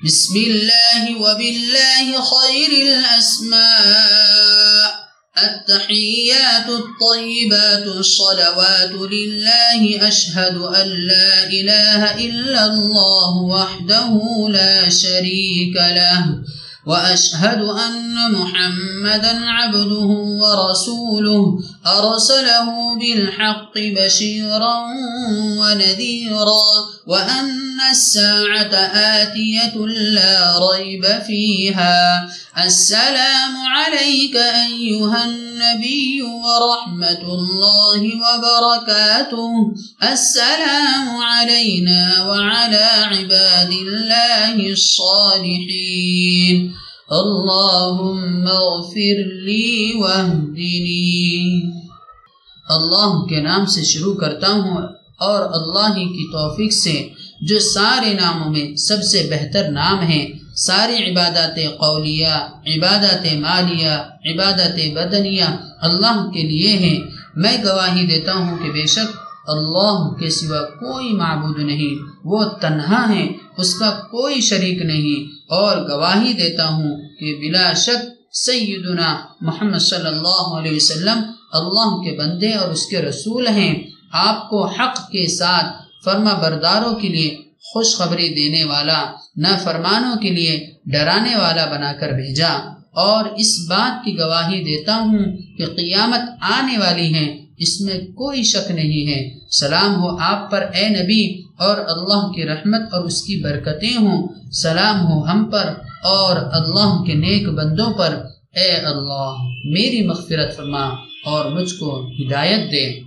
बिस्मिल्लाहि व बिल्लाहि खैरिल अस्मा अत्तहिय्यातु त्तय्यिबातु स्सलवातु लिल्लाहि अशहदु अन ला इलाहा इल्लल्लाहु वहदहु ला शरीका लहु व अशहदु अन्न मुहम्मदन अब्दुहु व रसूलुहु अरसलहु बिलहक्कि बशीरन व नज़ीरा व अन्न अस्साअत आतियतुन ला रैब फीहा। अस्सलामु अलैका अय्युहन नबिय्यु व रहमतुल्लाहि व बरकातुहु। अस्सलामु अलैना व अला इबादिल्लाहि स्सालिहीन। अल्लाहुम्मा अग़फिर ली वहदिनी। अल्लाह के नाम से शुरू करता हूँ और अल्लाह की तौफीक से जो सारे नामों में सबसे बेहतर नाम है। सारी इबादत कौलिया, इबादत मालिया, इबादत बदनिया अल्लाह के लिए हैं। मैं गवाही देता हूँ कि बेशक अल्लाह के सिवा कोई माबूद नहीं, वो तन्हा है, उसका कोई शरीक नहीं। और गवाही देता हूँ कि बिला शक सय्यदुना मुहम्मद सल्लल्लाहु अलैहि वसल्लम अल्लाह के बंदे और उसके रसूल हैं। आपको हक के साथ फर्मा बरदारों के लिए खुशखबरी देने वाला, न फरमानों के लिए डराने वाला बनाकर भेजा। और इस बात की गवाही देता हूँ कि क़ियामत आने वाली है, इसमें कोई शक नहीं है। सलाम हो आप पर ए नबी, और अल्लाह की रहमत और उसकी बरकतें हों। सलाम हो हम पर और अल्लाह के नेक बंदों पर। ए अल्लाह मेरी मग़फ़िरत फरमा और मुझको हिदायत दे।